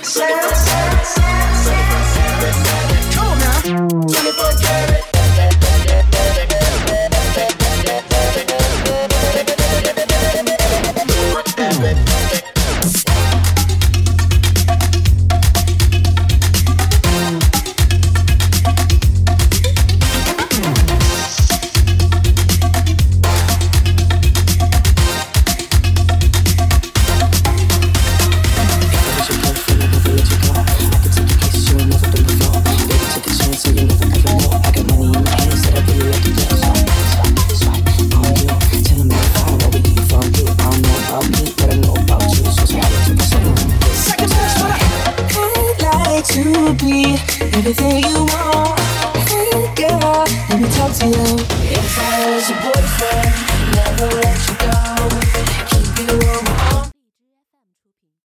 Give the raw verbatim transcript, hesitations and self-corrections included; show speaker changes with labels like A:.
A: To be everything you want. Hey girl, let me talk to you. If I was your boyfriend, never let you go.